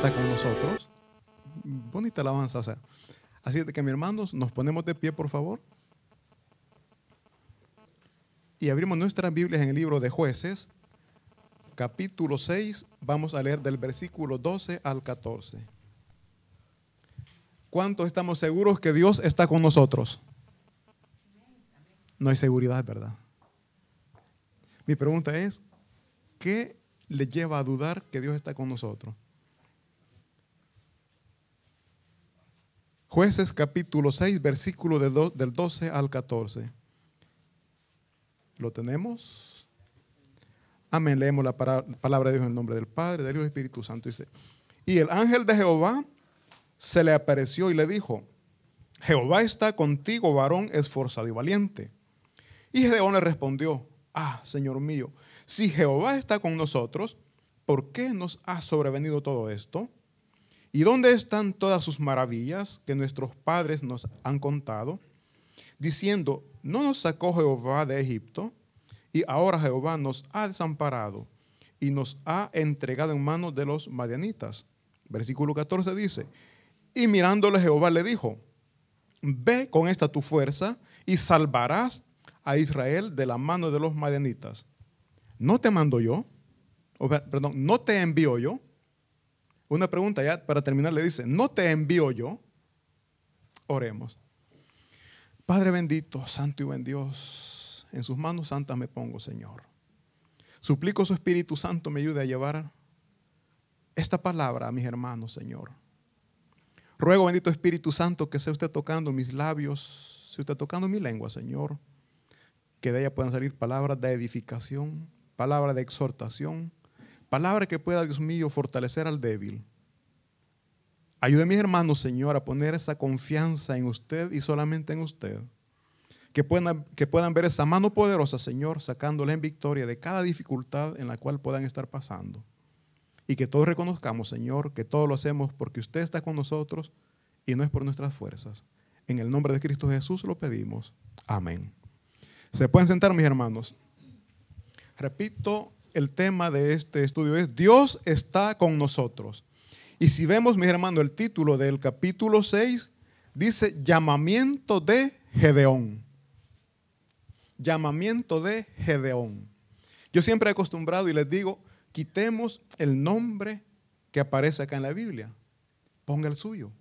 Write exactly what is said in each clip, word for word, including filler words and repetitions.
está con nosotros. Bonita alabanza, o sea. Así de que, mis hermanos, nos ponemos de pie, por favor. Y abrimos nuestras Biblias en el libro de Jueces, capítulo seis. Vamos a leer del versículo doce al catorce. ¿Cuántos estamos seguros que Dios está con nosotros? No hay seguridad, ¿verdad? Mi pregunta es, ¿qué le lleva a dudar que Dios está con nosotros? Jueces capítulo seis, versículo de do, del doce al catorce. ¿Lo tenemos? Amén. Leemos la palabra de Dios en el nombre del Padre, del Hijo y del Espíritu Santo. Dice, y el ángel de Jehová se le apareció y le dijo, Jehová está contigo, varón esforzado y valiente. Y Gedeón le respondió, ah, Señor mío, si Jehová está con nosotros, ¿por qué nos ha sobrevenido todo esto? ¿Y dónde están todas sus maravillas que nuestros padres nos han contado? Diciendo, ¿no nos sacó Jehová de Egipto? Y ahora Jehová nos ha desamparado y nos ha entregado en manos de los madianitas. Versículo catorce dice, y mirándole Jehová le dijo, ve con esta tu fuerza y salvarás a Israel de la mano de los madianitas. ¿No te mando yo? O, perdón, ¿no te envío yo? Una pregunta ya para terminar le dice, ¿no te envío yo? Oremos. Padre bendito, santo y buen Dios, en sus manos santas me pongo, Señor. Suplico su Espíritu Santo me ayude a llevar esta palabra a mis hermanos, Señor. Ruego, bendito Espíritu Santo, que sea usted tocando mis labios, sea usted tocando mi lengua, Señor, que de ella puedan salir palabras de edificación, palabras de exhortación, palabra que pueda, Dios mío, fortalecer al débil. Ayude a mis hermanos, Señor, a poner esa confianza en usted y solamente en usted. Que puedan, que puedan ver esa mano poderosa, Señor, sacándoles en victoria de cada dificultad en la cual puedan estar pasando. Y que todos reconozcamos, Señor, que todo lo hacemos porque usted está con nosotros y no es por nuestras fuerzas. En el nombre de Cristo Jesús lo pedimos. Amén. ¿Se pueden sentar, mis hermanos? Repito, el tema de este estudio es Dios está con nosotros. Y si vemos, mis hermanos, el título del capítulo seis dice llamamiento de Gedeón. Llamamiento de Gedeón. Yo siempre he acostumbrado y les digo, quitemos el nombre que aparece acá en la Biblia. Ponga el suyo.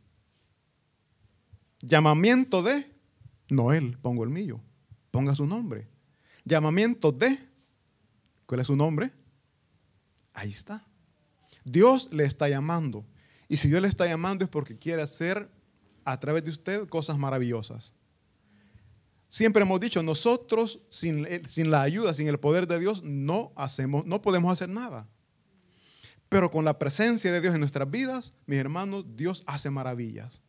Llamamiento de Noel, pongo el mío. Ponga su nombre. Llamamiento de, ¿cuál es su nombre? Ahí está. Dios le está llamando. Y si Dios le está llamando es porque quiere hacer a través de usted cosas maravillosas. Siempre hemos dicho, nosotros sin, sin la ayuda, sin el poder de Dios, no hacemos, no podemos hacer nada. Pero con la presencia de Dios en nuestras vidas, mis hermanos, Dios hace maravillas.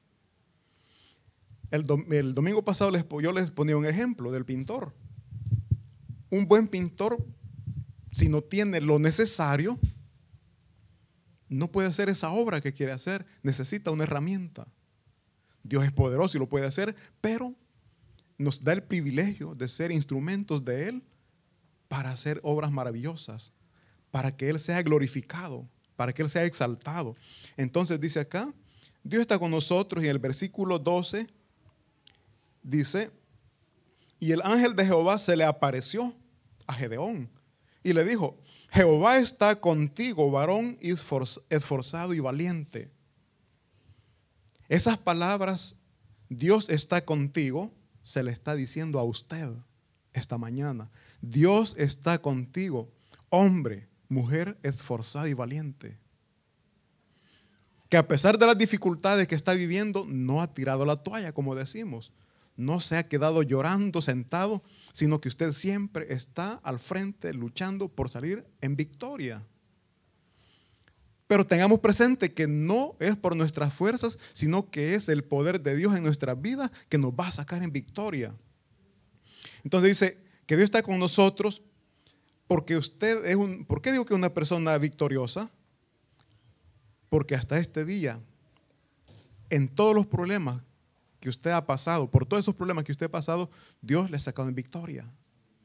El, dom, el domingo pasado les, yo les ponía un ejemplo del pintor. Un buen pintor, si no tiene lo necesario, no puede hacer esa obra que quiere hacer. Necesita una herramienta. Dios es poderoso y lo puede hacer, pero nos da el privilegio de ser instrumentos de Él para hacer obras maravillosas, para que Él sea glorificado, para que Él sea exaltado. Entonces dice acá, Dios está con nosotros y en el versículo doce dice, y el ángel de Jehová se le apareció a Gedeón y le dijo, Jehová está contigo, varón esforzado y valiente. Esas palabras, Dios está contigo, se le está diciendo a usted esta mañana. Dios está contigo, hombre, mujer esforzada y valiente. Que a pesar de las dificultades que está viviendo, no ha tirado la toalla, como decimos. No se ha quedado llorando, sentado, sino que usted siempre está al frente luchando por salir en victoria. Pero tengamos presente que no es por nuestras fuerzas, sino que es el poder de Dios en nuestra vida que nos va a sacar en victoria. Entonces dice que Dios está con nosotros porque usted es un... ¿Por qué digo que es una persona victoriosa? Porque hasta este día, en todos los problemas que usted ha pasado, por todos esos problemas que usted ha pasado, Dios le ha sacado en victoria.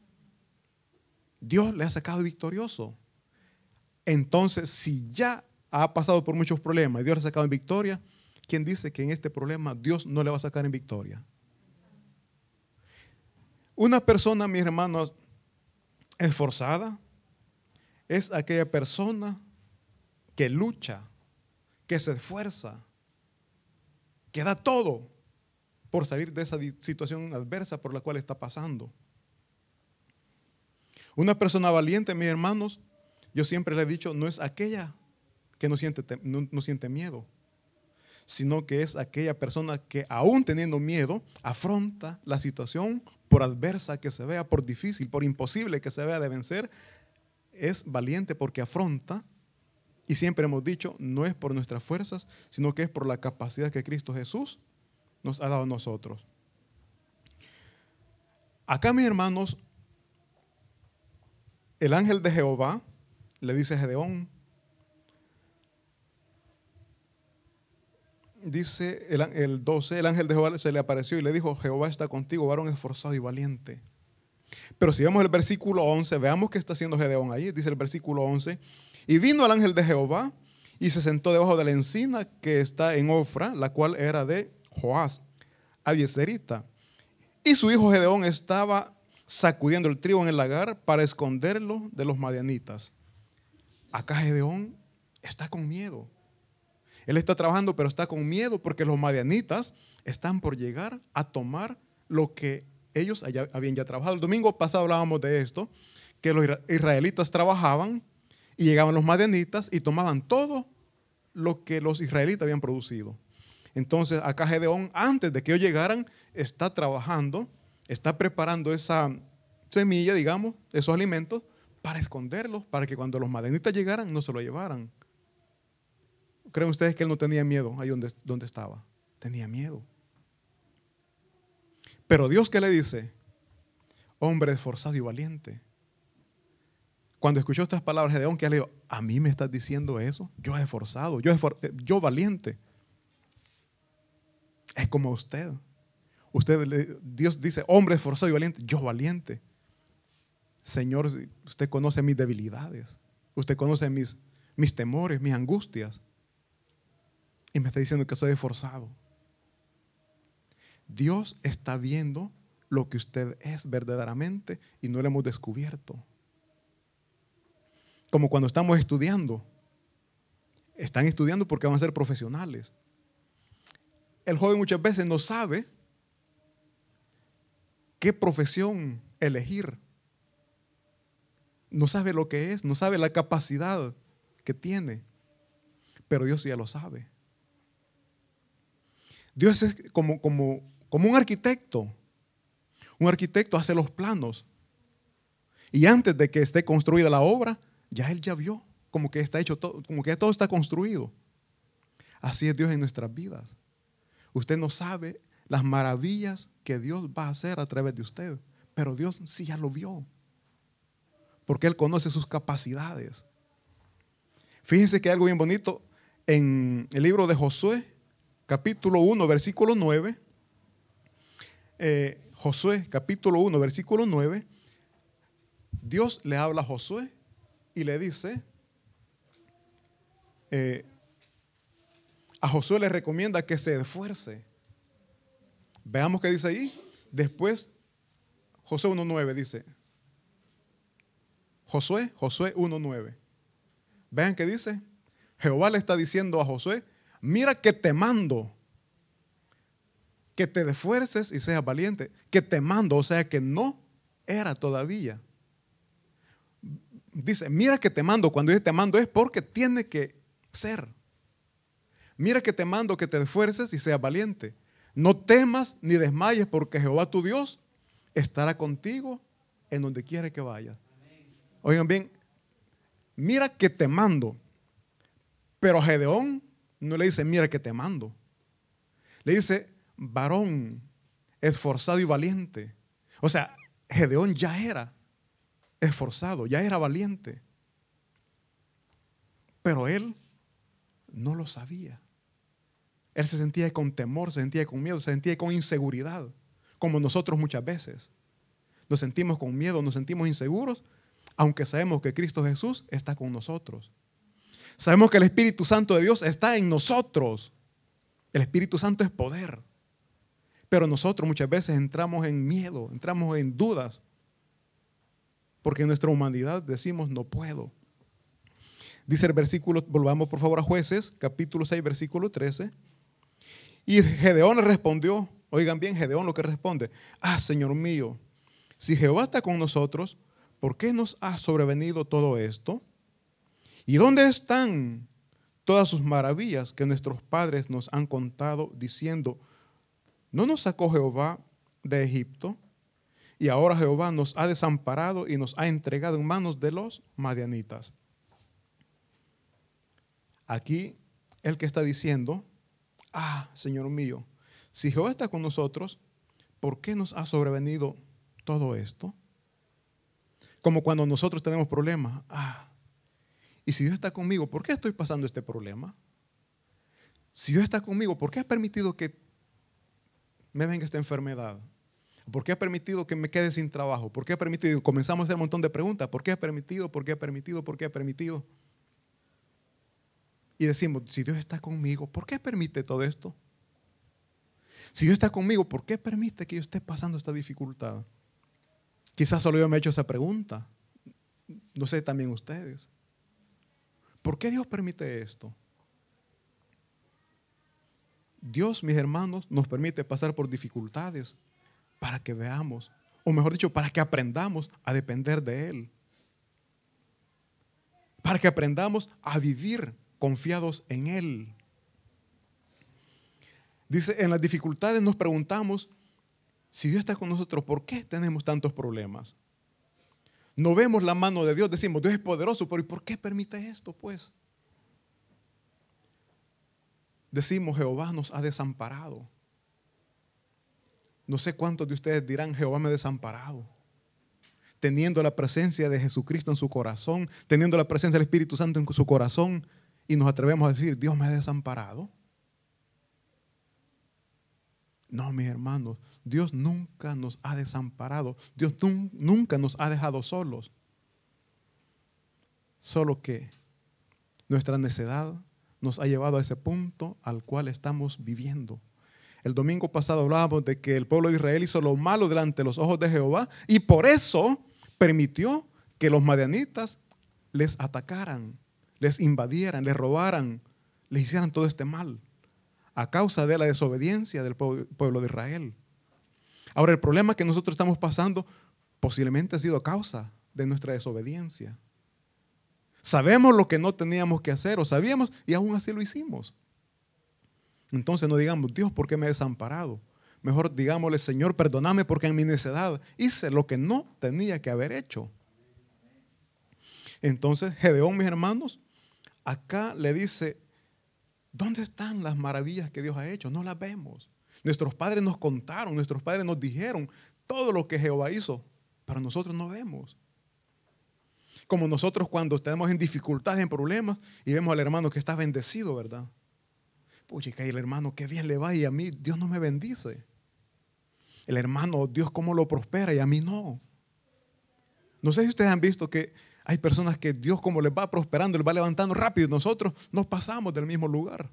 Dios le ha sacado victorioso. Entonces, si ya ha pasado por muchos problemas y Dios le ha sacado en victoria, ¿quién dice que en este problema Dios no le va a sacar en victoria? Una persona, mis hermanos, esforzada es aquella persona que lucha, que se esfuerza, que da todo por salir de esa situación adversa por la cual está pasando. Una persona valiente, mis hermanos, yo siempre le he dicho, no es aquella que no siente, no, no siente miedo, sino que es aquella persona que aún teniendo miedo, afronta la situación por adversa que se vea, por difícil, por imposible que se vea de vencer. Es valiente porque afronta, y siempre hemos dicho, no es por nuestras fuerzas, sino que es por la capacidad que Cristo Jesús nos ha dado a nosotros. Acá, mis hermanos, el ángel de Jehová le dice a Gedeón, dice el, el doce, el ángel de Jehová se le apareció y le dijo, Jehová está contigo, varón esforzado y valiente. Pero si vemos el versículo once, veamos qué está haciendo Gedeón ahí. Dice el versículo once, y vino el ángel de Jehová y se sentó debajo de la encina que está en Ofra, la cual era de Joás, Abieserita. Y su hijo Gedeón estaba sacudiendo el trigo en el lagar para esconderlo de los madianitas. Acá Gedeón está con miedo. Él está trabajando, pero está con miedo porque los madianitas están por llegar a tomar lo que ellos allá habían ya trabajado. El domingo pasado hablábamos de esto, que los israelitas trabajaban y llegaban los madianitas y tomaban todo lo que los israelitas habían producido. Entonces acá Gedeón, antes de que ellos llegaran, está trabajando, está preparando esa semilla, digamos, esos alimentos, para esconderlos, para que cuando los madianitas llegaran no se lo llevaran. ¿Creen ustedes que él no tenía miedo ahí donde, donde estaba? Tenía miedo. Pero Dios, ¿qué le dice? Hombre esforzado y valiente. Cuando escuchó estas palabras de Gedeón, ¿qué le dijo? ¿A mí me estás diciendo eso? Yo esforzado, yo, esfor yo valiente. Es como usted. Usted, Dios dice, hombre esforzado y valiente. Yo valiente. Señor, usted conoce mis debilidades. Usted conoce mis, mis temores, mis angustias. Y me está diciendo que soy esforzado. Dios está viendo lo que usted es verdaderamente y no lo hemos descubierto. Como cuando estamos estudiando. Están estudiando porque van a ser profesionales. El joven muchas veces no sabe qué profesión elegir. No sabe lo que es, no sabe la capacidad que tiene. Pero Dios ya lo sabe. Dios es como, como, como un arquitecto. Un arquitecto hace los planos. Y antes de que esté construida la obra, ya Él ya vio como que está hecho todo, como que todo está construido. Así es Dios en nuestras vidas. Usted no sabe las maravillas que Dios va a hacer a través de usted, pero Dios sí ya lo vio, porque Él conoce sus capacidades. Fíjense que hay algo bien bonito en el libro de Josué, capítulo uno, versículo nueve. Eh, Josué, capítulo uno, versículo nueve. Dios le habla a Josué y le dice, eh, a Josué le recomienda que se esfuerce. Veamos qué dice ahí. Después, Josué uno nueve dice. Josué, Josué uno nueve. Vean qué dice. Jehová le está diciendo a Josué, mira que te mando, que te esfuerces y seas valiente. Que te mando, o sea que no era todavía. Dice, mira que te mando. Cuando dice te mando es porque tiene que ser. Mira que te mando que te esfuerces y seas valiente. No temas ni desmayes porque Jehová tu Dios estará contigo en donde quiera que vayas. Oigan bien, mira que te mando. Pero a Gedeón no le dice mira que te mando. Le dice varón esforzado y valiente. O sea, Gedeón ya era esforzado, ya era valiente. Pero él no lo sabía. Él se sentía con temor, se sentía con miedo, se sentía con inseguridad, como nosotros muchas veces. Nos sentimos con miedo, nos sentimos inseguros, aunque sabemos que Cristo Jesús está con nosotros. Sabemos que el Espíritu Santo de Dios está en nosotros. El Espíritu Santo es poder. Pero nosotros muchas veces entramos en miedo, entramos en dudas. Porque en nuestra humanidad decimos, no puedo. Dice el versículo, volvamos por favor a Jueces, capítulo seis, versículo trece. Y Gedeón respondió, oigan bien, Gedeón lo que responde, ah, Señor mío, si Jehová está con nosotros, ¿por qué nos ha sobrevenido todo esto? ¿Y dónde están todas sus maravillas que nuestros padres nos han contado diciendo, ¿no nos sacó Jehová de Egipto? Y ahora Jehová nos ha desamparado y nos ha entregado en manos de los madianitas. Aquí el que está diciendo, ah, Señor mío, si Jehová está con nosotros, ¿por qué nos ha sobrevenido todo esto? Como cuando nosotros tenemos problemas. Ah, y si Dios está conmigo, ¿por qué estoy pasando este problema? Si Dios está conmigo, ¿por qué ha permitido que me venga esta enfermedad? ¿Por qué ha permitido que me quede sin trabajo? ¿Por qué ha permitido? Y comenzamos a hacer un montón de preguntas. ¿Por qué ha permitido? ¿Por qué ha permitido? ¿Por qué ha permitido? Y decimos, si Dios está conmigo, ¿por qué permite todo esto? Si Dios está conmigo, ¿por qué permite que yo esté pasando esta dificultad? Quizás solo yo me he hecho esa pregunta. No sé, también ustedes. ¿Por qué Dios permite esto? Dios, mis hermanos, nos permite pasar por dificultades para que veamos, o mejor dicho, para que aprendamos a depender de Él. Para que aprendamos a vivir confiados en Él. Dice, en las dificultades nos preguntamos, si Dios está con nosotros, ¿por qué tenemos tantos problemas? No vemos la mano de Dios, decimos, Dios es poderoso, pero ¿y por qué permite esto, pues? Decimos, Jehová nos ha desamparado. No sé cuántos de ustedes dirán, Jehová me ha desamparado. Teniendo la presencia de Jesucristo en su corazón, teniendo la presencia del Espíritu Santo en su corazón, y nos atrevemos a decir, Dios me ha desamparado. No, mis hermanos, Dios nunca nos ha desamparado. Dios nun- nunca nos ha dejado solos. Solo que nuestra necedad nos ha llevado a ese punto al cual estamos viviendo. El domingo pasado hablábamos de que el pueblo de Israel hizo lo malo delante de los ojos de Jehová y por eso permitió que los madianitas les atacaran, les invadieran, les robaran, les hicieran todo este mal a causa de la desobediencia del pueblo de Israel. Ahora, el problema que nosotros estamos pasando posiblemente ha sido a causa de nuestra desobediencia. Sabemos lo que no teníamos que hacer o sabíamos y aún así lo hicimos. Entonces no digamos, Dios, ¿por qué me he desamparado? Mejor digámosle, Señor, perdóname porque en mi necedad hice lo que no tenía que haber hecho. Entonces Gedeón, mis hermanos, acá le dice, ¿dónde están las maravillas que Dios ha hecho? No las vemos. Nuestros padres nos contaron, nuestros padres nos dijeron todo lo que Jehová hizo, pero nosotros no vemos. Como nosotros cuando estamos en dificultades, en problemas, y vemos al hermano que está bendecido, ¿verdad? Pucha, que el hermano qué bien le va y a mí Dios no me bendice. El hermano, Dios cómo lo prospera y a mí no. No sé si ustedes han visto que hay personas que Dios como les va prosperando, les va levantando rápido y nosotros nos pasamos del mismo lugar.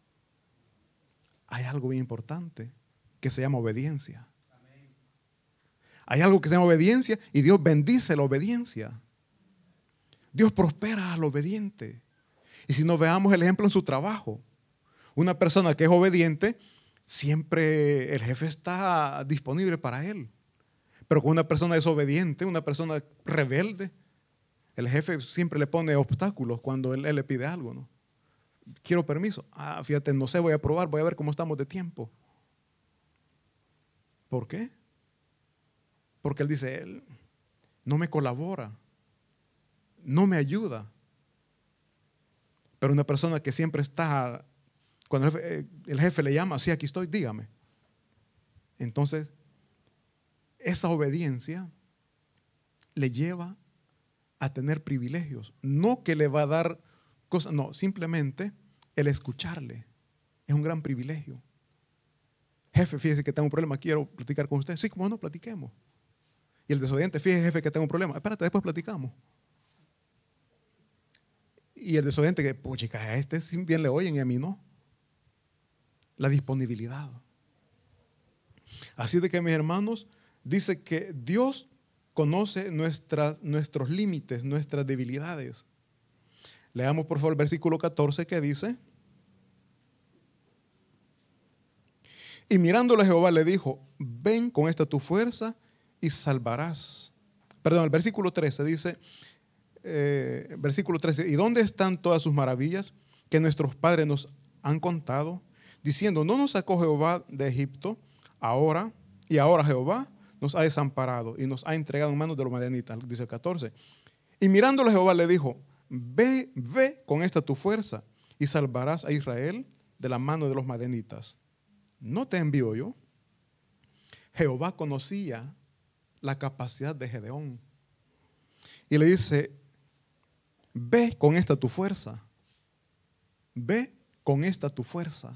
Hay algo bien importante que se llama obediencia. Hay algo que se llama obediencia y Dios bendice la obediencia. Dios prospera al obediente. Y si nos veamos el ejemplo en su trabajo, una persona que es obediente, siempre el jefe está disponible para él. Pero con una persona desobediente, una persona rebelde, el jefe siempre le pone obstáculos cuando él, él le pide algo, ¿no? Quiero permiso. Ah, fíjate, no sé, voy a probar, voy a ver cómo estamos de tiempo. ¿Por qué? Porque él dice, él no me colabora, no me ayuda. Pero una persona que siempre está, cuando el jefe, el jefe le llama, sí, aquí estoy, dígame. Entonces, esa obediencia le lleva a tener privilegios. No que le va a dar cosas, no, simplemente el escucharle es un gran privilegio. Jefe, fíjese que tengo un problema, quiero platicar con usted. Sí, como no, platiquemos. Y el desobediente, fíjese, jefe, que tengo un problema. Espérate, después platicamos. Y el desobediente que, pues chicas, a este sí bien le oyen y a mí no. La disponibilidad. Así de que, mis hermanos, dice que Dios conoce nuestras, nuestros límites, nuestras debilidades. Leamos por favor el versículo catorce que dice: y mirándole Jehová le dijo, ven con esta tu fuerza y salvarás. Perdón, el versículo trece dice, eh, versículo trece, ¿y dónde están todas sus maravillas que nuestros padres nos han contado? Diciendo, ¿no nos sacó Jehová de Egipto? Ahora, y ahora Jehová nos ha desamparado y nos ha entregado en manos de los madianitas, dice el catorce. Y mirándole Jehová le dijo, ve, ve con esta tu fuerza y salvarás a Israel de la mano de los madianitas. ¿No te envío yo? Jehová conocía la capacidad de Gedeón. Y le dice, ve con esta tu fuerza. Ve con esta tu fuerza.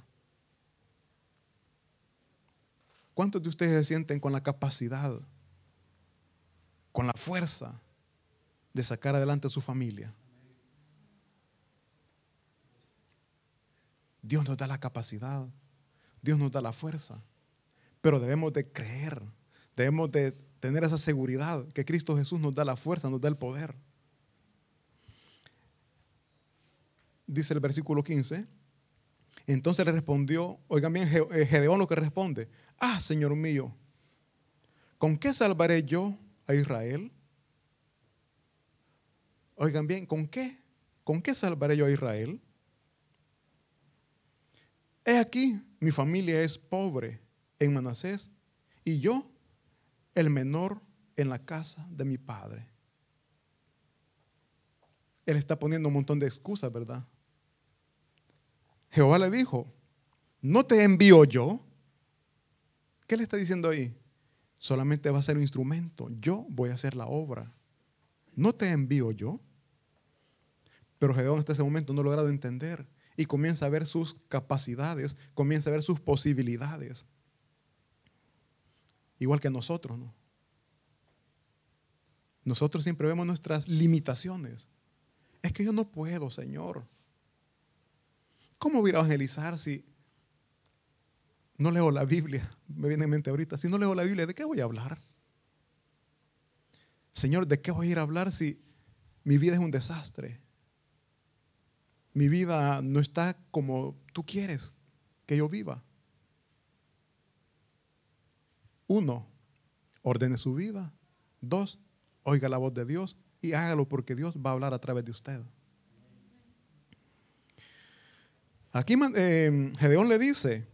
¿Cuántos de ustedes se sienten con la capacidad, con la fuerza de sacar adelante a su familia? Dios nos da la capacidad, Dios nos da la fuerza, pero debemos de creer, debemos de tener esa seguridad que Cristo Jesús nos da la fuerza, nos da el poder. Dice el versículo quince, entonces le respondió, oigan bien, Gedeón lo que responde, ah, Señor mío, ¿con qué salvaré yo a Israel? Oigan bien, ¿con qué? ¿Con qué salvaré yo a Israel? He aquí, mi familia es pobre en Manasés y yo, el menor en la casa de mi padre. Él está poniendo un montón de excusas, ¿verdad? Jehová le dijo, ¿no te envío yo? ¿Qué le está diciendo ahí? Solamente va a ser un instrumento. Yo voy a hacer la obra. ¿No te envío yo? Pero Gedeón hasta ese momento no ha logrado entender y comienza a ver sus capacidades, comienza a ver sus posibilidades. Igual que nosotros, ¿no? Nosotros siempre vemos nuestras limitaciones. Es que yo no puedo, Señor. ¿Cómo voy a evangelizar si no leo la Biblia? Me viene en mente ahorita. Si no leo la Biblia, ¿de qué voy a hablar? Señor, ¿de qué voy a ir a hablar si mi vida es un desastre? Mi vida no está como tú quieres que yo viva. Uno, ordene su vida. Dos, oiga la voz de Dios y hágalo porque Dios va a hablar a través de usted. Aquí eh, Gedeón le dice,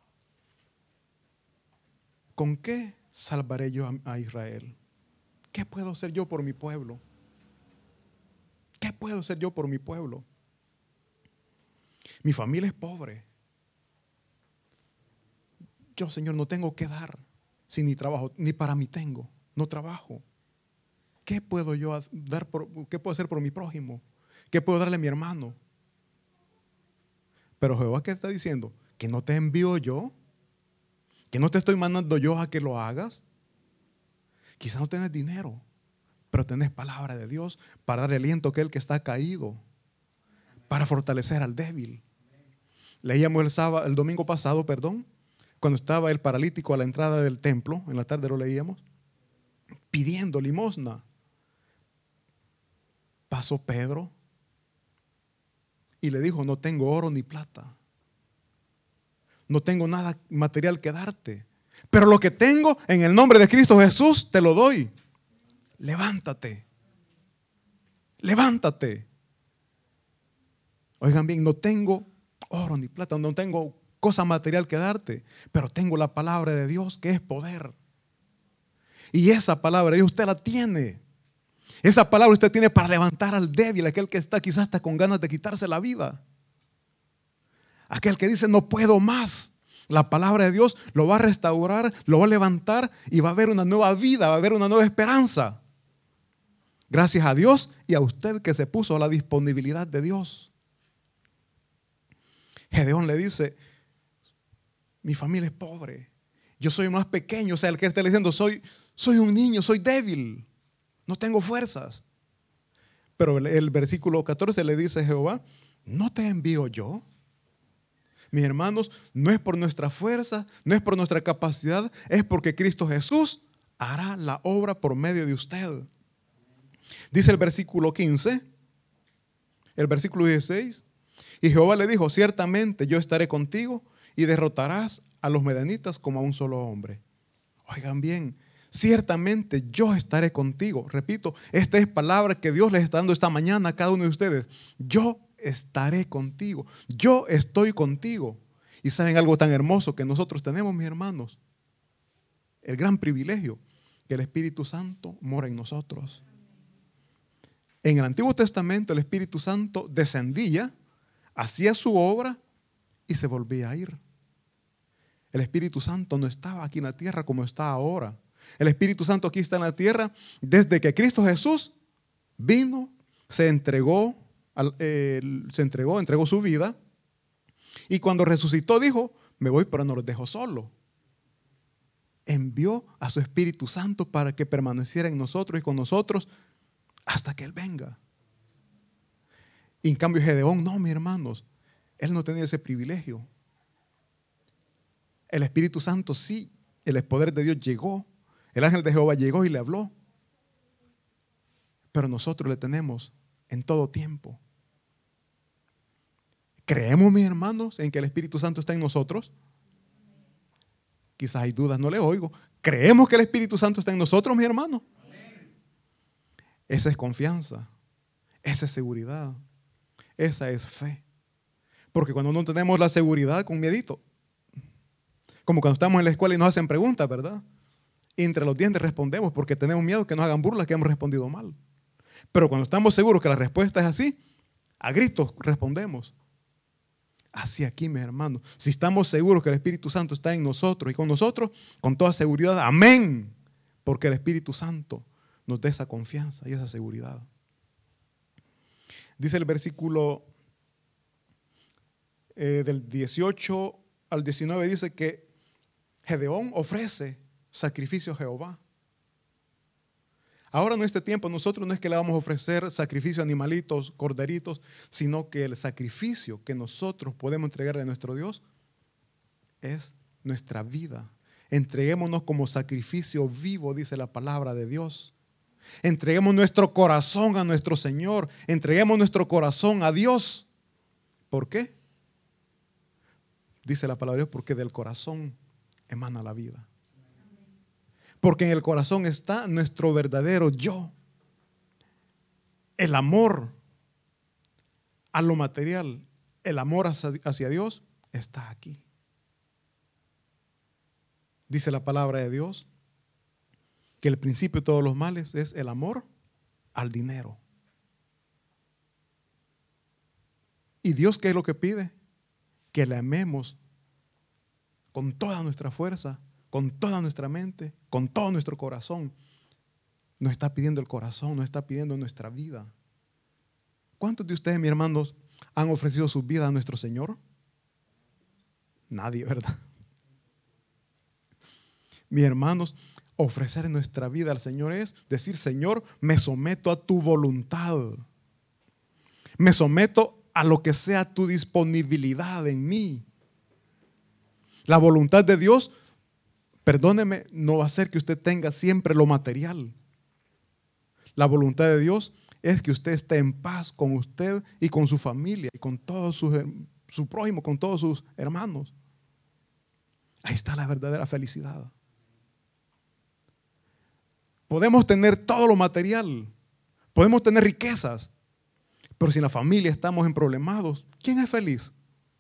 ¿con qué salvaré yo a, a Israel? ¿Qué puedo hacer yo por mi pueblo? ¿Qué puedo hacer yo por mi pueblo? Mi familia es pobre. Yo, Señor, no tengo que dar si ni trabajo, ni para mí tengo, no trabajo. ¿Qué puedo yo dar por, qué puedo hacer por mi prójimo? ¿Qué puedo darle a mi hermano? Pero Jehová, ¿qué está diciendo? Que no te envío yo, que no te estoy mandando yo a que lo hagas. Quizás no tenés dinero, pero tenés palabra de Dios para darle aliento a aquel que está caído, para fortalecer al débil. Leíamos el sábado, el domingo pasado, perdón, cuando estaba el paralítico a la entrada del templo, en la tarde lo leíamos, pidiendo limosna. Pasó Pedro y le dijo, no tengo oro ni plata, no tengo nada material que darte, pero lo que tengo en el nombre de Cristo Jesús te lo doy. Levántate, levántate. Oigan bien, no tengo oro ni plata, no tengo cosa material que darte, pero tengo la palabra de Dios que es poder. Y esa palabra de Dios usted la tiene. Esa palabra usted tiene para levantar al débil, aquel que está quizás hasta con ganas de quitarse la vida. Aquel que dice no puedo más. La palabra de Dios lo va a restaurar, lo va a levantar y va a haber una nueva vida, va a haber una nueva esperanza. Gracias a Dios y a usted que se puso a la disponibilidad de Dios. Gedeón le dice, mi familia es pobre, yo soy el más pequeño, o sea, el que está diciendo, soy, soy un niño, soy débil, no tengo fuerzas. Pero el, el versículo catorce le dice Jehová, ¿no te envío yo? Mis hermanos, no es por nuestra fuerza, no es por nuestra capacidad, es porque Cristo Jesús hará la obra por medio de usted. Dice el versículo quince, el versículo dieciséis, y Jehová le dijo, ciertamente yo estaré contigo y derrotarás a los medianitas como a un solo hombre. Oigan bien, ciertamente yo estaré contigo. Repito, esta es palabra que Dios les está dando esta mañana a cada uno de ustedes. Yo estaré contigo. Yo estoy contigo. Y saben algo tan hermoso que nosotros tenemos, mis hermanos. El gran privilegio que el Espíritu Santo mora en nosotros. En el Antiguo Testamento el Espíritu Santo descendía, hacía su obra y se volvía a ir. El Espíritu Santo no estaba aquí en la tierra como está ahora. El Espíritu Santo aquí está en la tierra desde que Cristo Jesús vino, se entregó, eh, se entregó, entregó su vida, y cuando resucitó dijo, me voy pero no los dejo solo. Envió a su Espíritu Santo para que permaneciera en nosotros y con nosotros hasta que Él venga. Y en cambio Gedeón, no, mis hermanos, él no tenía ese privilegio. El Espíritu Santo sí, el poder de Dios llegó, el ángel de Jehová llegó y le habló, pero nosotros le tenemos en todo tiempo. ¿Creemos, mis hermanos, en que el Espíritu Santo está en nosotros? Quizás hay dudas, no le oigo. ¿Creemos que el Espíritu Santo está en nosotros, mis hermanos? Esa es confianza, esa es seguridad, esa es fe. Porque cuando no tenemos la seguridad, con miedito, como cuando estamos en la escuela y nos hacen preguntas, ¿verdad? Y entre los dientes respondemos porque tenemos miedo que nos hagan burlas que hemos respondido mal. Pero cuando estamos seguros que la respuesta es así, a gritos respondemos. Así aquí, mis hermanos, si estamos seguros que el Espíritu Santo está en nosotros y con nosotros, con toda seguridad, amén, porque el Espíritu Santo nos da esa confianza y esa seguridad. Dice el versículo eh, del dieciocho al diecinueve, dice que Gedeón ofrece sacrificio a Jehová. Ahora en este tiempo nosotros no es que le vamos a ofrecer sacrificio a animalitos, corderitos, sino que el sacrificio que nosotros podemos entregarle a nuestro Dios es nuestra vida. Entreguémonos como sacrificio vivo, dice la palabra de Dios. Entreguemos nuestro corazón a nuestro Señor. Entreguemos nuestro corazón a Dios. ¿Por qué? Dice la palabra de Dios, porque del corazón emana la vida. Porque en el corazón está nuestro verdadero yo. El amor a lo material, el amor hacia, hacia Dios está aquí. Dice la palabra de Dios que el principio de todos los males es el amor al dinero. ¿Y Dios qué es lo que pide? Que le amemos con toda nuestra fuerza, con toda nuestra mente, con todo nuestro corazón. Nos está pidiendo el corazón, nos está pidiendo nuestra vida. ¿Cuántos de ustedes, mis hermanos, han ofrecido su vida a nuestro Señor? Nadie, ¿verdad? Mis hermanos, ofrecer nuestra vida al Señor es decir, Señor, me someto a tu voluntad. Me someto a lo que sea tu disponibilidad en mí. La voluntad de Dios, perdóneme, no va a ser que usted tenga siempre lo material. La voluntad de Dios es que usted esté en paz con usted y con su familia y con todos sus, su prójimo, con todos sus hermanos. Ahí está la verdadera felicidad. Podemos tener todo lo material, podemos tener riquezas, pero si en la familia estamos en problemados, ¿quién es feliz?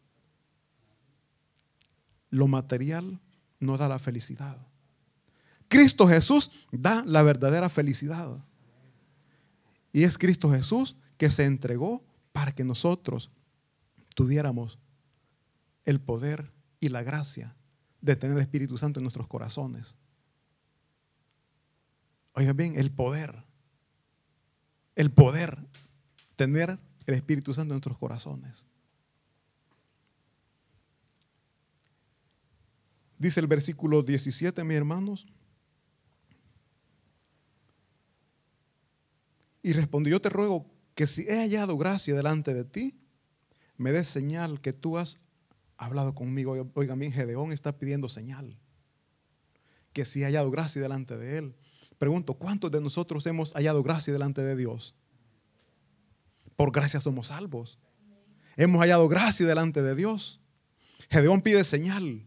Lo material no da la felicidad. Cristo Jesús da la verdadera felicidad. Y es Cristo Jesús que se entregó para que nosotros tuviéramos el poder y la gracia de tener el Espíritu Santo en nuestros corazones. Oigan bien, el poder, el poder tener el Espíritu Santo en nuestros corazones. Dice el versículo diecisiete, mis hermanos. Y respondió, yo te ruego que si he hallado gracia delante de ti, me des señal que tú has hablado conmigo. Oiga, mi Gedeón está pidiendo señal. Que si he hallado gracia delante de él. Pregunto, ¿cuántos de nosotros hemos hallado gracia delante de Dios? Por gracia somos salvos. Hemos hallado gracia delante de Dios. Gedeón pide señal.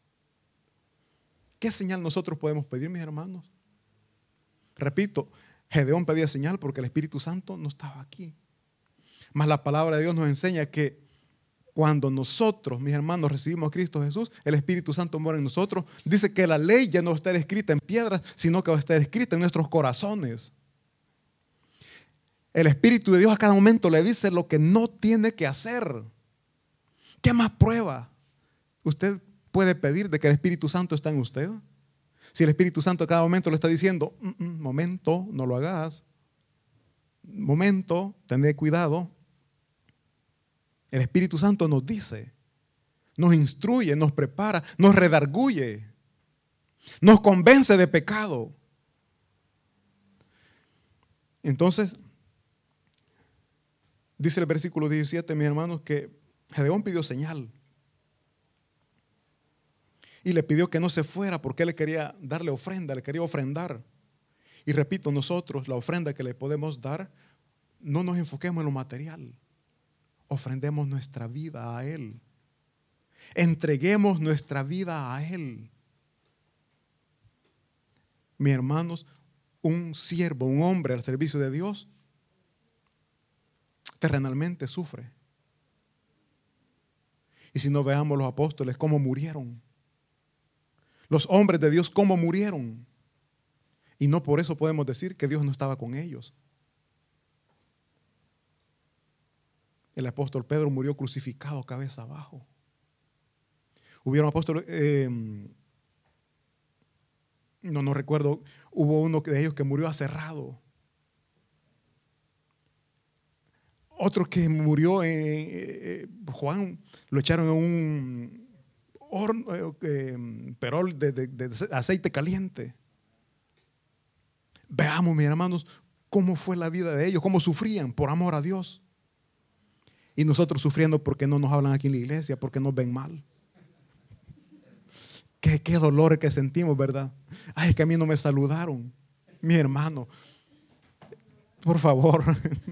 ¿Qué señal nosotros podemos pedir, mis hermanos? Repito, Gedeón pedía señal porque el Espíritu Santo no estaba aquí. Mas la palabra de Dios nos enseña que cuando nosotros, mis hermanos, recibimos a Cristo Jesús, el Espíritu Santo mora en nosotros. Dice que la ley ya no va a estar escrita en piedras, sino que va a estar escrita en nuestros corazones. El Espíritu de Dios a cada momento le dice lo que no tiene que hacer. ¿Qué más prueba usted puede pedir de que el Espíritu Santo está en usted? Si el Espíritu Santo a cada momento le está diciendo, mm, mm, momento, no lo hagas. Momento, tened cuidado. El Espíritu Santo nos dice, nos instruye, nos prepara, nos redarguye, nos convence de pecado. Entonces, dice el versículo diecisiete, mis hermanos, que Gedeón pidió señal. Y le pidió que no se fuera porque él le quería darle ofrenda, le quería ofrendar. Y repito, nosotros la ofrenda que le podemos dar, no nos enfoquemos en lo material. Ofrendemos nuestra vida a Él. Entreguemos nuestra vida a Él. Mis hermanos, un siervo, un hombre al servicio de Dios, terrenalmente sufre. Y si no, veamos los apóstoles cómo murieron. Los hombres de Dios cómo murieron. Y no por eso podemos decir que Dios no estaba con ellos. El apóstol Pedro murió crucificado cabeza abajo. Hubieron apóstoles, eh, no, no recuerdo, hubo uno de ellos que murió aserrado. Otro que murió, en, eh, Juan, lo echaron en un horno, eh, perol de, de, de aceite caliente. Veamos, mis hermanos, cómo fue la vida de ellos, cómo sufrían por amor a Dios. Y nosotros sufriendo porque no nos hablan aquí en la iglesia, porque nos ven mal. Qué, qué dolor que sentimos, ¿verdad? Ay, es que a mí no me saludaron. Mi hermano, por favor.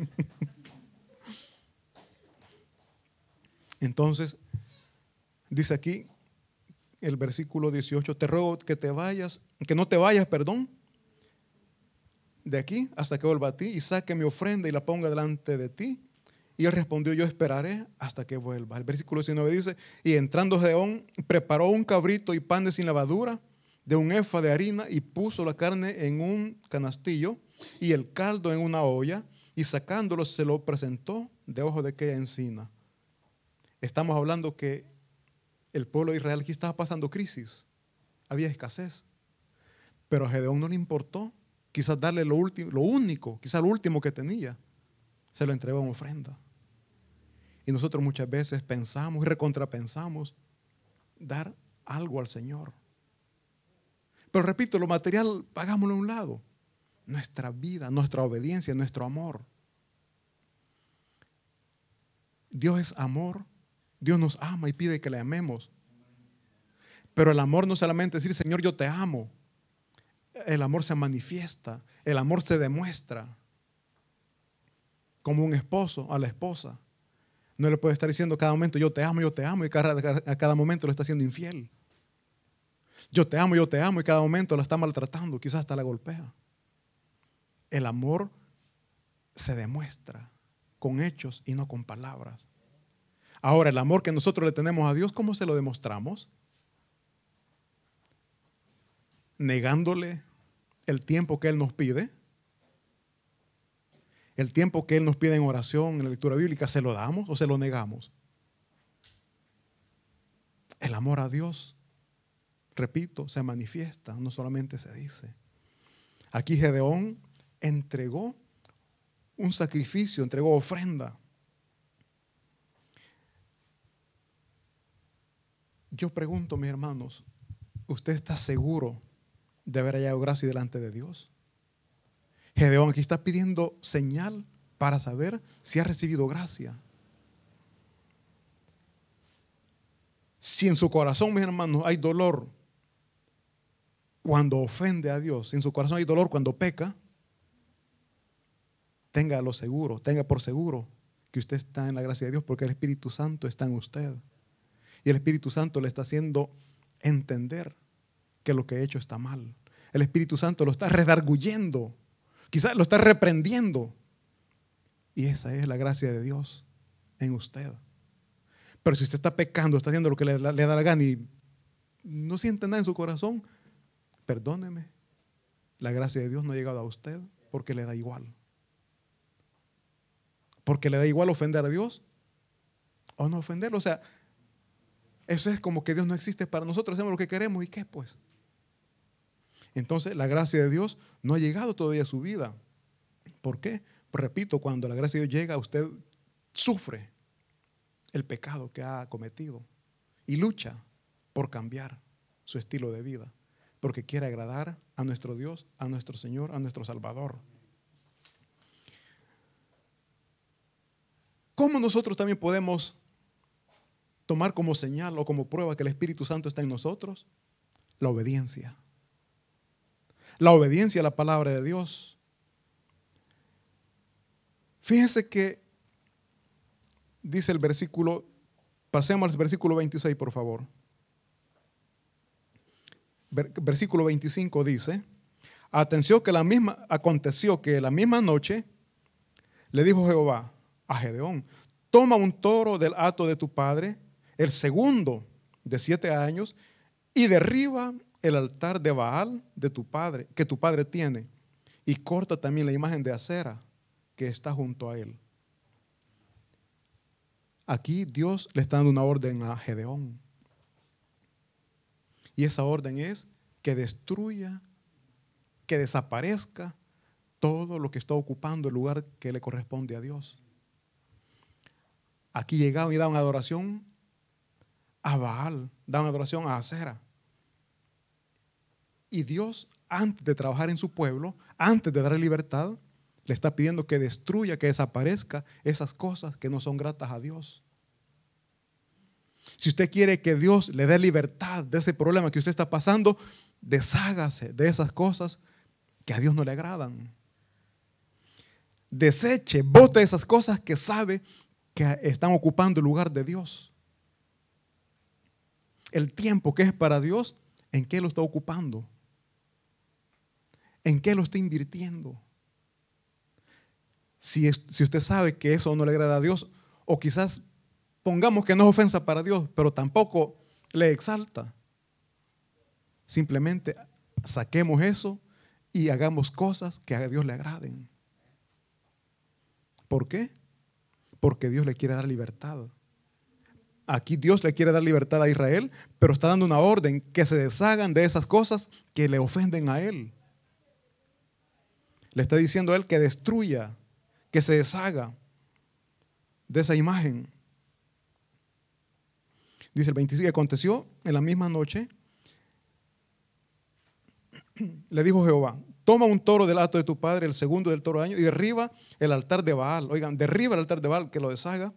Entonces, dice aquí el versículo dieciocho, te ruego que te vayas, que no te vayas, perdón, de aquí hasta que vuelva a ti y saque mi ofrenda y la ponga delante de ti. Y él respondió, yo esperaré hasta que vuelva. El versículo diecinueve dice, y entrando Gedeón, preparó un cabrito y pan de sin levadura, de un efa de harina, y puso la carne en un canastillo y el caldo en una olla, y sacándolo se lo presentó debajo de aquella encina. Estamos hablando que el pueblo de Israel aquí estaba pasando crisis, había escasez, pero a Gedeón no le importó quizás darle lo, último, lo único, quizás lo último que tenía, se lo entregó en ofrenda. Y nosotros muchas veces pensamos y recontrapensamos dar algo al Señor. Pero repito, lo material, pagámoslo a un lado. Nuestra vida, nuestra obediencia, nuestro amor. Dios es amor. Dios nos ama y pide que le amemos. Pero el amor no solamente es decir, Señor, yo te amo. El amor se manifiesta, el amor se demuestra. Como un esposo a la esposa. No le puede estar diciendo cada momento, yo te amo, yo te amo, y a cada momento lo está haciendo infiel. Yo te amo, yo te amo, y cada momento la está maltratando, quizás hasta la golpea. El amor se demuestra con hechos y no con palabras. Ahora, el amor que nosotros le tenemos a Dios, ¿cómo se lo demostramos? Negándole el tiempo que Él nos pide. El tiempo que Él nos pide en oración, en la lectura bíblica, ¿se lo damos o se lo negamos? El amor a Dios, repito, se manifiesta, no solamente se dice. Aquí Gedeón entregó un sacrificio, entregó ofrenda. Yo pregunto, mis hermanos, ¿usted está seguro de haber hallado gracia delante de Dios? Gedeón aquí está pidiendo señal para saber si ha recibido gracia. Si en su corazón, mis hermanos, hay dolor cuando ofende a Dios, si en su corazón hay dolor cuando peca, téngalo seguro, tenga por seguro que usted está en la gracia de Dios, porque el Espíritu Santo está en usted. Y el Espíritu Santo le está haciendo entender que lo que ha hecho está mal. El Espíritu Santo lo está redarguyendo, quizás lo está reprendiendo. Y esa es la gracia de Dios en usted. Pero si usted está pecando, está haciendo lo que le, le da la gana y no siente nada en su corazón, perdóneme, la gracia de Dios no ha llegado a usted porque le da igual. Porque le da igual ofender a Dios o no ofenderlo. O sea, eso es como que Dios no existe para nosotros, hacemos lo que queremos y qué pues. Entonces la gracia de Dios no ha llegado todavía a su vida. ¿Por qué? Pues repito, cuando la gracia de Dios llega, usted sufre el pecado que ha cometido y lucha por cambiar su estilo de vida, porque quiere agradar a nuestro Dios, a nuestro Señor, a nuestro Salvador. ¿Cómo nosotros también podemos tomar como señal o como prueba que el Espíritu Santo está en nosotros? La obediencia. La obediencia a la palabra de Dios. Fíjense que dice el versículo, pasemos al versículo veintiséis, por favor. Versículo veinticinco dice: atención que la misma, aconteció que la misma noche le dijo Jehová a Gedeón: toma un toro del hato de tu padre, el segundo de siete años, y derriba el altar de Baal de tu padre, que tu padre tiene, y corta también la imagen de Acera que está junto a él. Aquí Dios le está dando una orden a Gedeón. Y esa orden es que destruya, que desaparezca todo lo que está ocupando el lugar que le corresponde a Dios. Aquí llegaban y daban adoración a Baal, daban adoración a Acera. Y Dios, antes de trabajar en su pueblo, antes de darle libertad, le está pidiendo que destruya, que desaparezca esas cosas que no son gratas a Dios. Si usted quiere que Dios le dé libertad de ese problema que usted está pasando, deshágase de esas cosas que a Dios no le agradan. Deseche, bote esas cosas que sabe que están ocupando el lugar de Dios. El tiempo que es para Dios, ¿en qué lo está ocupando? ¿En qué lo está invirtiendo? Si, es, si usted sabe que eso no le agrada a Dios, o quizás pongamos que no es ofensa para Dios, pero tampoco le exalta, simplemente saquemos eso y hagamos cosas que a Dios le agraden. ¿Por qué? Porque Dios le quiere dar libertad. Aquí Dios le quiere dar libertad a Israel, pero está dando una orden que se deshagan de esas cosas que le ofenden a él. Le está diciendo a él que destruya, que se deshaga de esa imagen. Dice el veinticinco, aconteció en la misma noche, le dijo Jehová: toma un toro del hato de tu padre, el segundo del toro año, y derriba el altar de Baal. Oigan, derriba el altar de Baal, que lo deshaga,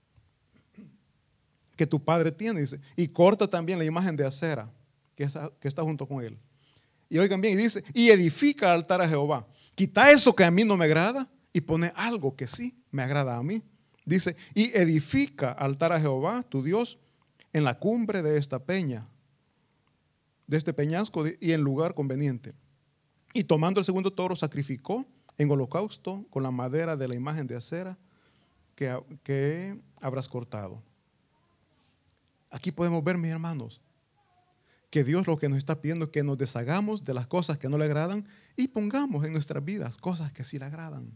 que tu padre tiene, dice, y corta también la imagen de Acera, que está, que está junto con él. Y oigan bien, y dice, y edifica altar a Jehová. Quita eso que a mí no me agrada y pone algo que sí me agrada a mí. Dice, y edifica altar a Jehová, tu Dios, en la cumbre de esta peña, de este peñasco y en lugar conveniente. Y tomando el segundo toro, sacrificó en holocausto con la madera de la imagen de Acera que, que habrás cortado. Aquí podemos ver, mis hermanos, que Dios lo que nos está pidiendo es que nos deshagamos de las cosas que no le agradan y pongamos en nuestras vidas cosas que sí le agradan.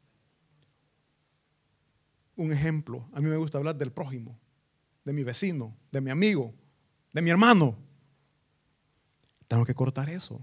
Un ejemplo, a mí me gusta hablar del prójimo, de mi vecino, de mi amigo, de mi hermano. Tengo que cortar eso.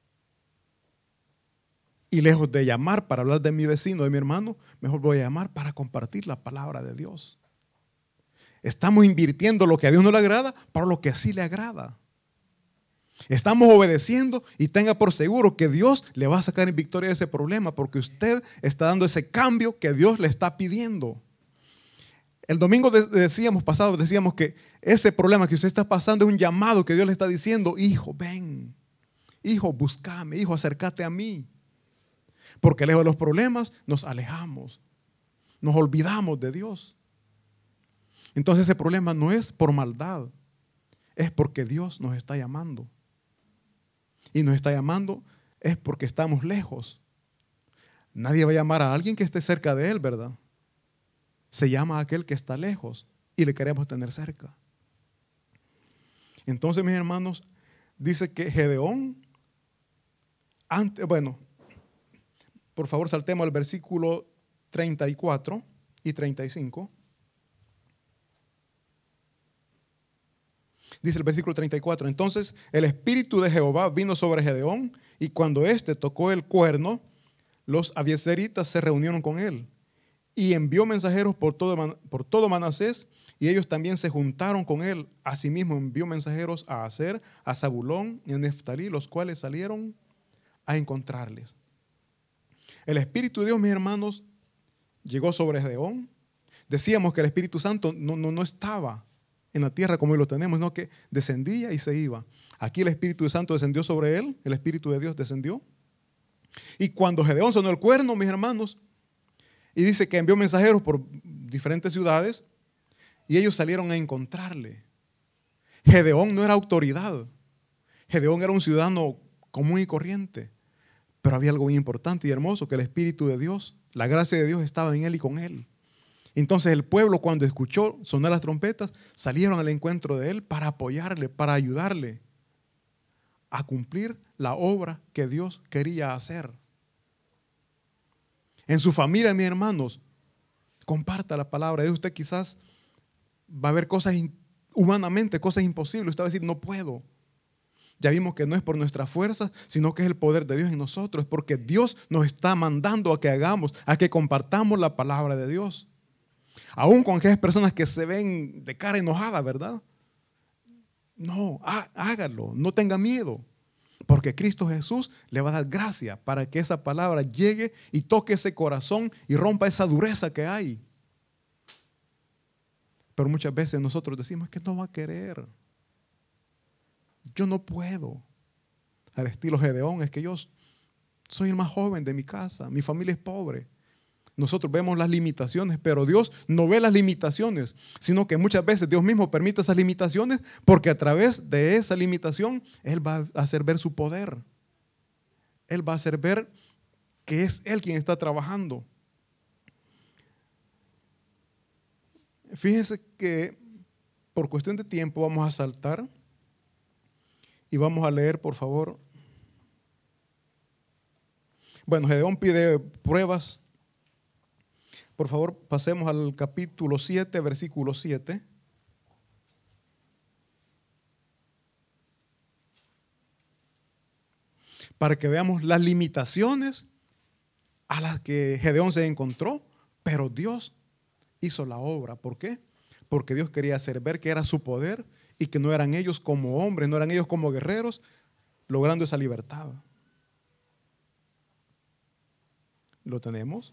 Y lejos de llamar para hablar de mi vecino, de mi hermano, mejor voy a llamar para compartir la palabra de Dios. Estamos invirtiendo lo que a Dios no le agrada para lo que sí le agrada. Estamos obedeciendo y tenga por seguro que Dios le va a sacar en victoria de ese problema porque usted está dando ese cambio que Dios le está pidiendo. El domingo decíamos, pasado, decíamos que ese problema que usted está pasando es un llamado que Dios le está diciendo: hijo, ven, hijo, búscame, hijo, acércate a mí. Porque lejos de los problemas nos alejamos, nos olvidamos de Dios. Entonces ese problema no es por maldad, es porque Dios nos está llamando. Y nos está llamando es porque estamos lejos. Nadie va a llamar a alguien que esté cerca de él, ¿verdad? Se llama a aquel que está lejos y le queremos tener cerca. Entonces, mis hermanos, dice que Gedeón, antes, bueno, por favor saltemos al versículo treinta y cuatro y treinta y cinco. Dice el versículo treinta y cuatro, entonces el espíritu de Jehová vino sobre Gedeón y cuando éste tocó el cuerno, los abiezeritas se reunieron con él y envió mensajeros por todo, por todo Manasés y ellos también se juntaron con él. Asimismo envió mensajeros a Aser, a Zabulón y a Neftalí, los cuales salieron a encontrarles. El Espíritu de Dios, mis hermanos, llegó sobre Gedeón. Decíamos que el Espíritu Santo no, no, no estaba en la tierra como hoy lo tenemos, sino que descendía y se iba. Aquí el Espíritu Santo descendió sobre él, el Espíritu de Dios descendió. Y cuando Gedeón sonó el cuerno, mis hermanos, y dice que envió mensajeros por diferentes ciudades, y ellos salieron a encontrarle. Gedeón no era autoridad. Gedeón era un ciudadano común y corriente. Pero había algo muy importante y hermoso, que el Espíritu de Dios, la gracia de Dios estaba en él y con él. Entonces el pueblo, cuando escuchó sonar las trompetas, salieron al encuentro de él para apoyarle, para ayudarle a cumplir la obra que Dios quería hacer. En su familia, mis hermanos, comparta la palabra de Dios. Usted quizás va a ver cosas humanamente, cosas imposibles. Usted va a decir, no puedo. Ya vimos que no es por nuestra fuerza, sino que es el poder de Dios en nosotros. Es porque Dios nos está mandando a que hagamos, a que compartamos la palabra de Dios. Aún con aquellas personas que se ven de cara enojada, ¿verdad? No, há, hágalo, no tenga miedo. Porque Cristo Jesús le va a dar gracia para que esa palabra llegue y toque ese corazón y rompa esa dureza que hay. Pero muchas veces nosotros decimos que no va a querer. Yo no puedo. Al estilo Gedeón, es que yo soy el más joven de mi casa, mi familia es pobre. Nosotros vemos las limitaciones, pero Dios no ve las limitaciones, sino que muchas veces Dios mismo permite esas limitaciones porque a través de esa limitación Él va a hacer ver su poder. Él va a hacer ver que es Él quien está trabajando. Fíjense que por cuestión de tiempo vamos a saltar y vamos a leer, por favor. Bueno, Gedeón pide pruebas. Por favor, pasemos al capítulo siete, versículo siete. Para que veamos las limitaciones a las que Gedeón se encontró, pero Dios hizo la obra. ¿Por qué? Porque Dios quería hacer ver que era su poder y que no eran ellos como hombres, no eran ellos como guerreros, logrando esa libertad. ¿Lo tenemos?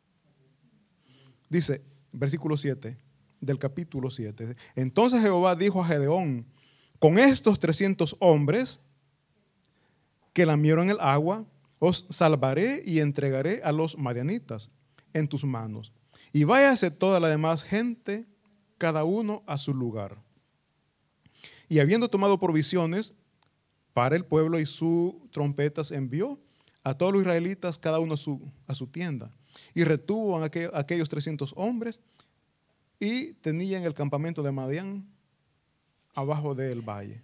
Dice, versículo siete del capítulo siete. Entonces Jehová dijo a Gedeón, con estos trescientos hombres que lamieron el agua, os salvaré y entregaré a los madianitas en tus manos. Y váyase toda la demás gente, cada uno a su lugar. Y habiendo tomado provisiones para el pueblo y sus trompetas, envió a todos los israelitas, cada uno a su, a su tienda. Y retuvo a aquellos trescientos hombres y tenían el campamento de Madián abajo del valle.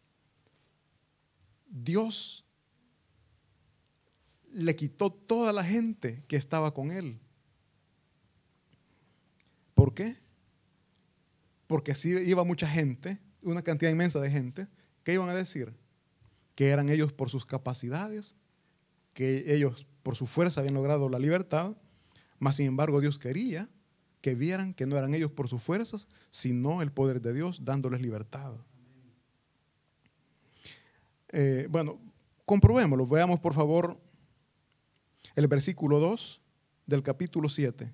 Dios le quitó toda la gente que estaba con él. ¿Por qué? Porque si iba mucha gente, una cantidad inmensa de gente, ¿qué iban a decir? Que eran ellos por sus capacidades, que ellos por su fuerza habían logrado la libertad, mas sin embargo Dios quería que vieran que no eran ellos por sus fuerzas, sino el poder de Dios dándoles libertad. Eh, bueno, comprobémoslo. Veamos por favor el versículo dos del capítulo siete.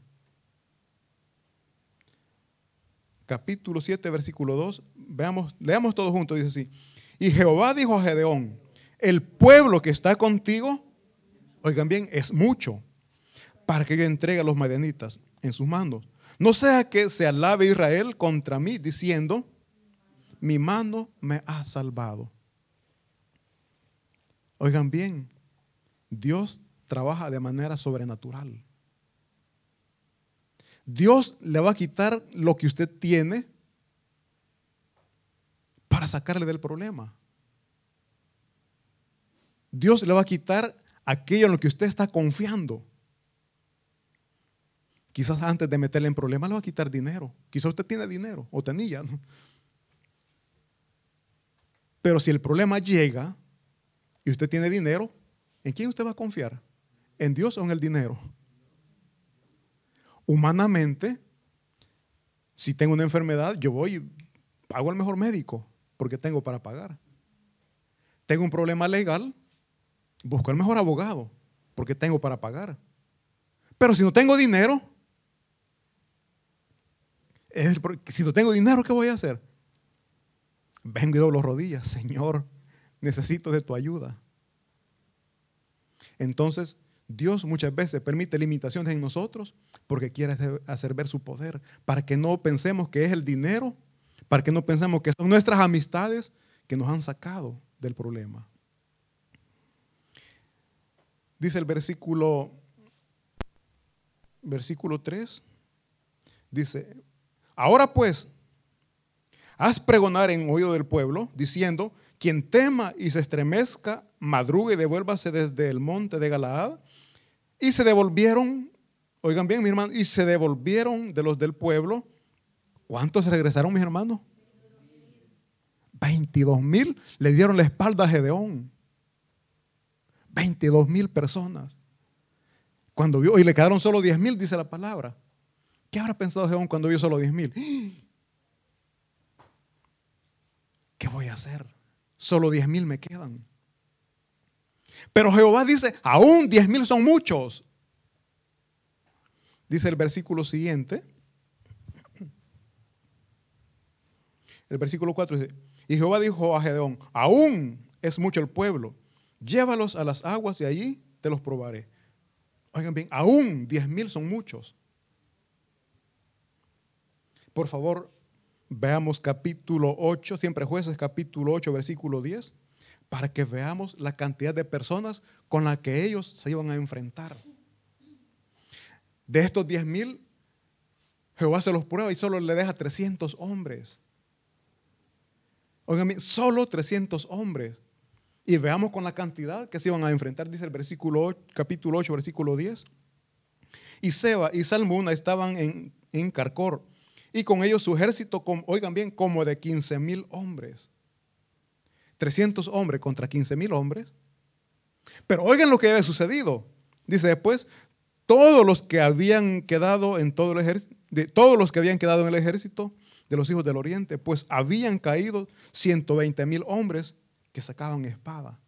Capítulo siete, versículo dos. Veamos, leamos todos juntos, dice así. Y Jehová dijo a Gedeón, el pueblo que está contigo, oigan bien, es mucho, para que yo entregue a los madianitas en sus manos. No sea que se alabe Israel contra mí, diciendo, mi mano me ha salvado. Oigan bien, Dios trabaja de manera sobrenatural. Dios le va a quitar lo que usted tiene para sacarle del problema. Dios le va a quitar aquello en lo que usted está confiando. Quizás antes de meterle en problemas le va a quitar dinero. Quizás usted tiene dinero o tenía, ¿no? Pero si el problema llega y usted tiene dinero, ¿en quién usted va a confiar? ¿En Dios o en el dinero? Humanamente, si tengo una enfermedad, yo voy y pago al mejor médico porque tengo para pagar. Tengo un problema legal, busco al mejor abogado porque tengo para pagar. Pero si no tengo dinero, es el, si no tengo dinero, ¿qué voy a hacer? Vengo y doblo rodillas, Señor, necesito de tu ayuda. Entonces, Dios muchas veces permite limitaciones en nosotros porque quiere hacer ver su poder, para que no pensemos que es el dinero, para que no pensemos que son nuestras amistades que nos han sacado del problema. Dice el versículo, versículo tres, dice, ahora pues, haz pregonar en oído del pueblo, diciendo, quien tema y se estremezca, madrugue y devuélvase desde el monte de Galaad. Y se devolvieron, oigan bien, mis hermanos, y se devolvieron de los del pueblo. ¿Cuántos regresaron, mis hermanos? veintidós mil le dieron la espalda a Gedeón. veintidós mil personas. Cuando vio, y le quedaron solo diez mil, dice la palabra. ¿Qué habrá pensado Gedeón cuando vio solo diez mil? ¿Qué voy a hacer? Solo diez mil me quedan. Pero Jehová dice, aún diez mil son muchos. Dice el versículo siguiente. El versículo cuatro dice, y Jehová dijo a Gedeón, aún es mucho el pueblo, llévalos a las aguas y allí te los probaré. Oigan bien, aún diez mil son muchos. Por favor, veamos capítulo ocho, siempre Jueces capítulo ocho, versículo diez, para que veamos la cantidad de personas con las que ellos se iban a enfrentar. De estos diez mil, Jehová se los prueba y solo le deja trescientos hombres. Oigan bien, solo trescientos hombres. Y veamos con la cantidad que se iban a enfrentar, dice el versículo ocho, capítulo ocho, versículo diez. Y Seba y Salmuna estaban en, en Carcor, y con ellos su ejército, con, oigan bien, como de quince mil hombres. trescientos hombres contra quince mil hombres. Pero oigan lo que había sucedido. Dice después, todos los que habían quedado en todo el ejército, de todos los que habían quedado en el ejército de los hijos del oriente, pues habían caído ciento veinte mil hombres que sacaban espada.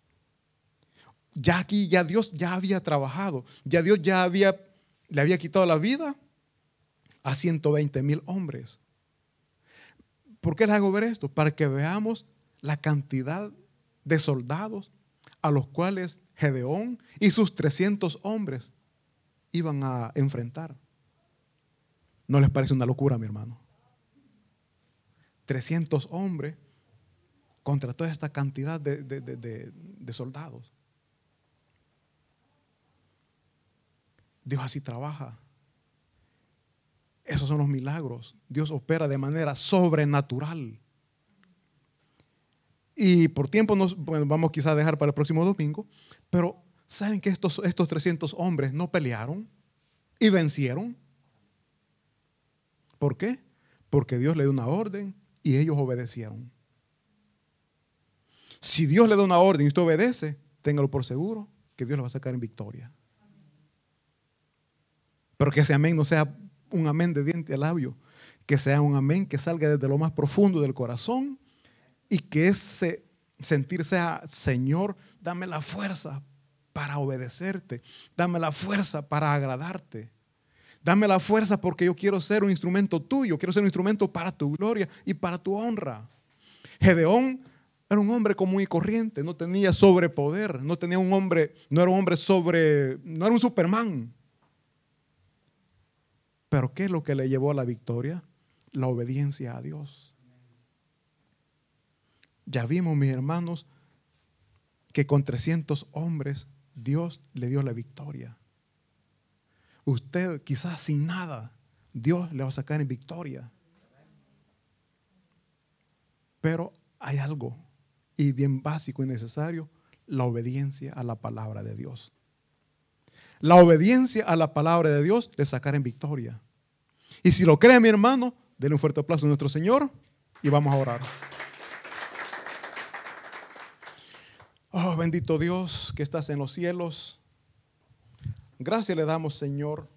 Ya aquí, ya Dios ya había trabajado, ya Dios ya había, le había quitado la vida a ciento veinte mil hombres. ¿Por qué les hago ver esto? Para que veamos la cantidad de soldados a los cuales Gedeón y sus trescientos hombres iban a enfrentar. ¿No les parece una locura, mi hermano? trescientos hombres contra toda esta cantidad de, de, de, de, de soldados. Dios así trabaja. Esos son los milagros. Dios opera de manera sobrenatural. Y por tiempo nos bueno, vamos quizás a dejar para el próximo domingo, pero ¿saben que estos, estos trescientos hombres no pelearon y vencieron? ¿Por qué? Porque Dios le dio una orden y ellos obedecieron. Si Dios le da una orden y usted obedece, téngalo por seguro que Dios lo va a sacar en victoria. Pero que ese amén no sea un amén de diente a labio, que sea un amén que salga desde lo más profundo del corazón y que ese, sentirse a, Señor, dame la fuerza para obedecerte. Dame la fuerza para agradarte. Dame la fuerza porque yo quiero ser un instrumento tuyo. Quiero ser un instrumento para tu gloria y para tu honra. Gedeón era un hombre común y corriente. No tenía sobrepoder. No tenía un hombre, no era un hombre sobre, no era un Superman. Pero ¿qué es lo que le llevó a la victoria? La obediencia a Dios. Ya vimos, mis hermanos, que con trescientos hombres Dios le dio la victoria. Usted quizás sin nada, Dios le va a sacar en victoria. Pero hay algo, y bien básico y necesario, la obediencia a la palabra de Dios. La obediencia a la palabra de Dios le sacará en victoria. Y si lo cree, mi hermano, denle un fuerte aplauso a nuestro Señor y vamos a orar. Oh, bendito Dios que estás en los cielos. Gracias le damos, Señor,